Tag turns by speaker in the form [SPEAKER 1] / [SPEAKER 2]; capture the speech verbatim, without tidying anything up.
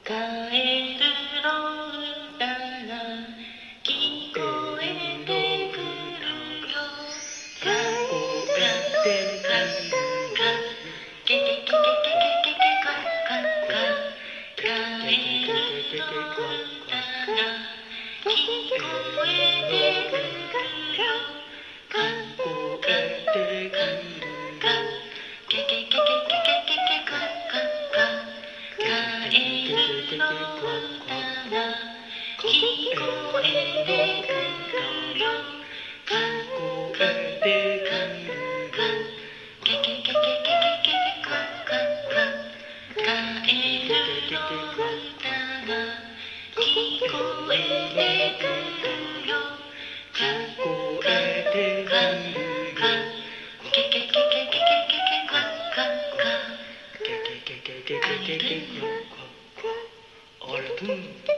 [SPEAKER 1] カエルの歌が聞こえてくるよ。カエルの歌がケケケケケケケケカカカ。カエルの歌が聞こえてくるよ。カカカカケケケケケケケカカカ。カエルの歌が聞こえてくるよ。カカカカケケケケケケケカカカ。カエルの歌が聞こえてくるよ。カカカカケケケケケケケカカカ。ケケケケケケケカカカ。あれ、うん。